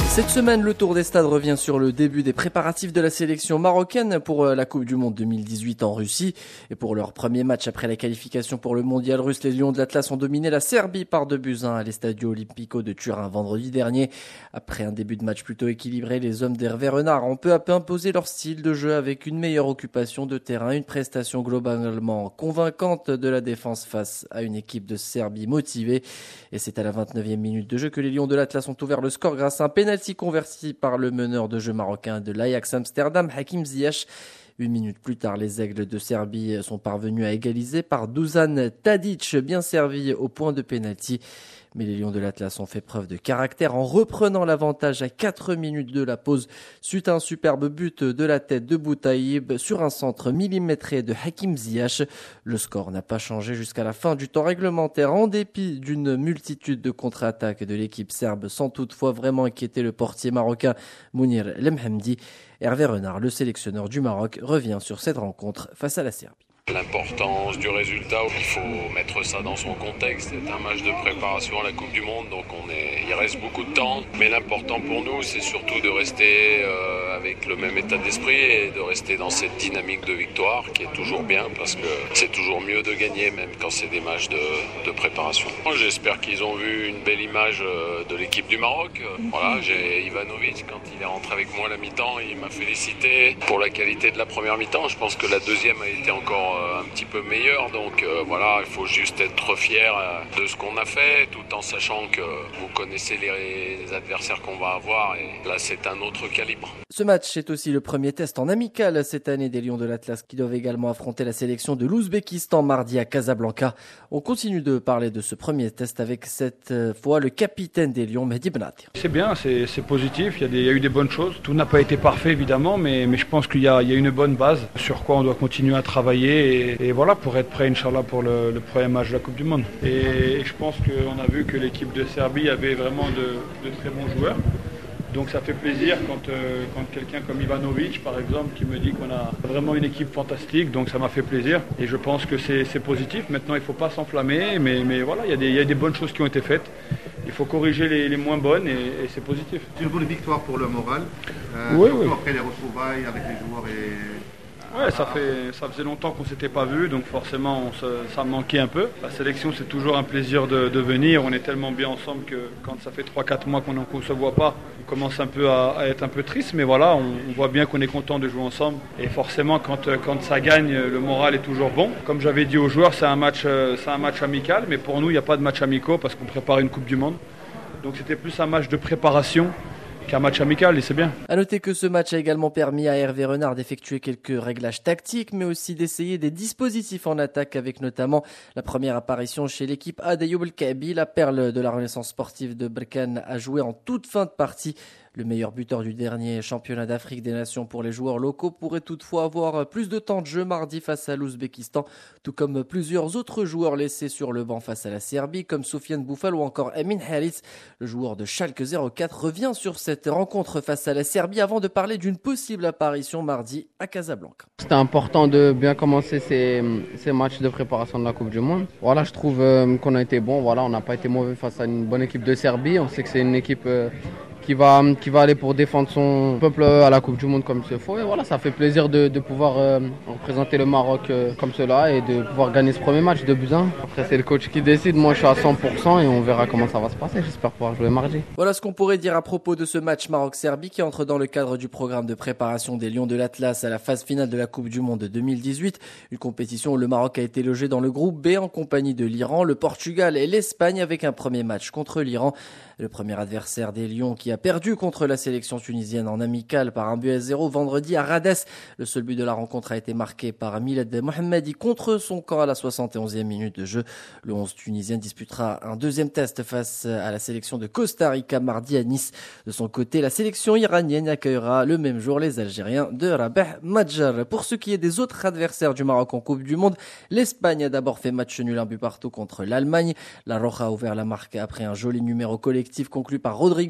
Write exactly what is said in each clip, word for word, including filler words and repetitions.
Cette semaine, le Tour des Stades revient sur le début des préparatifs de la sélection marocaine pour la Coupe du Monde deux mille dix-huit en Russie. Et pour leur premier match après la qualification pour le mondial russe, les Lions de l'Atlas ont dominé la Serbie par deux buts à un à l'Estadio Olimpico de Turin vendredi dernier. Après un début de match plutôt équilibré, les hommes d'Hervé Renard ont peu à peu imposé leur style de jeu avec une meilleure occupation de terrain, une prestation globalement convaincante de la défense face à une équipe de Serbie motivée. Et c'est à la vingt-neuvième minute de jeu que les Lions de l'Atlas ont ouvert le score grâce à un pénalty converti par le meneur de jeu marocain de l'Ajax Amsterdam, Hakim Ziyech. Une minute plus tard, les Aigles de Serbie sont parvenus à égaliser par Dusan Tadic, bien servi au point de pénalty. Mais les Lions de l'Atlas ont fait preuve de caractère en reprenant l'avantage à quatre minutes de la pause suite à un superbe but de la tête de Boutaïb sur un centre millimétré de Hakim Ziyech. Le score n'a pas changé jusqu'à la fin du temps réglementaire en dépit d'une multitude de contre-attaques de l'équipe serbe sans toutefois vraiment inquiéter le portier marocain Mounir Lemhamdi. Hervé Renard, le sélectionneur du Maroc, revient sur cette rencontre face à la Serbie. L'importance du résultat, il faut mettre ça dans son contexte. C'est un match de préparation à la Coupe du Monde, donc on est, il reste beaucoup de temps. Mais l'important pour nous, c'est surtout de rester euh, avec le même état d'esprit et de rester dans cette dynamique de victoire qui est toujours bien parce que c'est toujours mieux de gagner, même quand c'est des matchs de, de préparation. J'espère qu'ils ont vu une belle image de l'équipe du Maroc. Voilà, j'ai Ivanovic, quand il est rentré avec moi à la mi-temps, il m'a félicité pour la qualité de la première mi-temps. Je pense que la deuxième a été encore un petit peu meilleur, donc euh, voilà, il faut juste être fier de ce qu'on a fait, tout en sachant que vous connaissez les, les adversaires qu'on va avoir, et là c'est un autre calibre. Ce match est aussi le premier test en amical cette année des Lions de l'Atlas qui doivent également affronter la sélection de l'Ouzbékistan mardi à Casablanca. On continue de parler de ce premier test avec cette fois le capitaine des Lions, Mehdi Benatir. C'est bien, c'est, c'est positif, il y, a des, il y a eu des bonnes choses. Tout n'a pas été parfait évidemment, mais, mais je pense qu'il y a, il y a une bonne base sur quoi on doit continuer à travailler et, et voilà, pour être prêt Inch'Allah pour le, le premier match de la Coupe du Monde. Et, et je pense qu'on a vu que l'équipe de Serbie avait vraiment de, de très bons joueurs. Donc ça fait plaisir quand, euh, quand quelqu'un comme Ivanovic, par exemple, qui me dit qu'on a vraiment une équipe fantastique, donc ça m'a fait plaisir. Et je pense que c'est, c'est positif. Maintenant, il ne faut pas s'enflammer, mais, mais voilà, il y, a des, il y a des bonnes choses qui ont été faites. Il faut corriger les, les moins bonnes et, et c'est positif. C'est une bonne victoire pour le moral, euh, oui, surtout oui. après les retrouvailles avec les joueurs et... Ouais, ça, fait, ça faisait longtemps qu'on ne s'était pas vu, donc forcément on se, ça manquait un peu. La sélection, c'est toujours un plaisir de, de venir. On est tellement bien ensemble que quand ça fait trois quatre mois qu'on ne se voit pas, on commence un peu à, à être un peu triste. Mais voilà, on, on voit bien qu'on est content de jouer ensemble. Et forcément, quand, quand ça gagne, le moral est toujours bon. Comme j'avais dit aux joueurs, c'est un match, c'est un match amical. Mais pour nous, il n'y a pas de match amicaux parce qu'on prépare une Coupe du Monde. Donc c'était plus un match de préparation qu'un match amical, et c'est bien. À noter que ce match a également permis à Hervé Renard d'effectuer quelques réglages tactiques, mais aussi d'essayer des dispositifs en attaque, avec notamment la première apparition chez l'équipe A d'Ayoub El Kaabi. La perle de la Renaissance sportive de Berkane a joué en toute fin de partie. Le meilleur buteur du dernier championnat d'Afrique des Nations pour les joueurs locaux pourrait toutefois avoir plus de temps de jeu mardi face à l'Ouzbékistan, tout comme plusieurs autres joueurs laissés sur le banc face à la Serbie, comme Soufiane Boufal ou encore Amin Harit. Le joueur de Schalke zéro quatre revient sur cette rencontre face à la Serbie avant de parler d'une possible apparition mardi à Casablanca. C'était important de bien commencer ces, ces matchs de préparation de la Coupe du Monde. Voilà, je trouve euh, qu'on a été bon. Voilà, on n'a pas été mauvais face à une bonne équipe de Serbie. On sait que c'est une équipe euh, qui va, qui va aller pour défendre son peuple à la Coupe du Monde comme il se faut. Et voilà, ça fait plaisir de, de pouvoir euh, représenter le Maroc euh, comme cela et de pouvoir gagner ce premier match de buts à un. Après, c'est le coach qui décide. Moi, je suis à cent pour cent et on verra comment ça va se passer. J'espère pouvoir jouer mardi. Voilà ce qu'on pourrait dire à propos de ce match Maroc-Serbie qui entre dans le cadre du programme de préparation des Lions de l'Atlas à la phase finale de la Coupe du Monde deux mille dix-huit. Une compétition où le Maroc a été logé dans le groupe B en compagnie de l'Iran, le Portugal et l'Espagne avec un premier match contre l'Iran. Le premier adversaire des Lions qui a perdu contre la sélection tunisienne en amical par un but à zéro vendredi à Rades. Le seul but de la rencontre a été marqué par Milad Mohammadi contre son camp à la soixante et onzième minute de jeu. Le onze tunisien disputera un deuxième test face à la sélection de Costa Rica mardi à Nice. De son côté, la sélection iranienne accueillera le même jour les Algériens de Rabah Madjar. Pour ce qui est des autres adversaires du Maroc en Coupe du Monde, l'Espagne a d'abord fait match nul un but partout contre l'Allemagne. La Roja a ouvert la marque après un joli numéro collectif conclu par Rodrigo à la sixième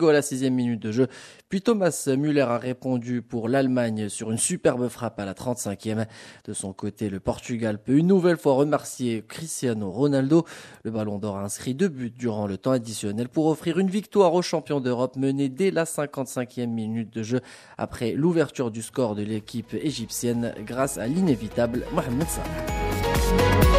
quatorzième minute de jeu. Puis Thomas Müller a répondu pour l'Allemagne sur une superbe frappe à la trente-cinquième. De son côté, le Portugal peut une nouvelle fois remercier Cristiano Ronaldo. Le Ballon d'Or a inscrit deux buts durant le temps additionnel pour offrir une victoire aux champions d'Europe menés dès la cinquante-cinquième minute de jeu après l'ouverture du score de l'équipe égyptienne grâce à l'inévitable Mohamed Salah.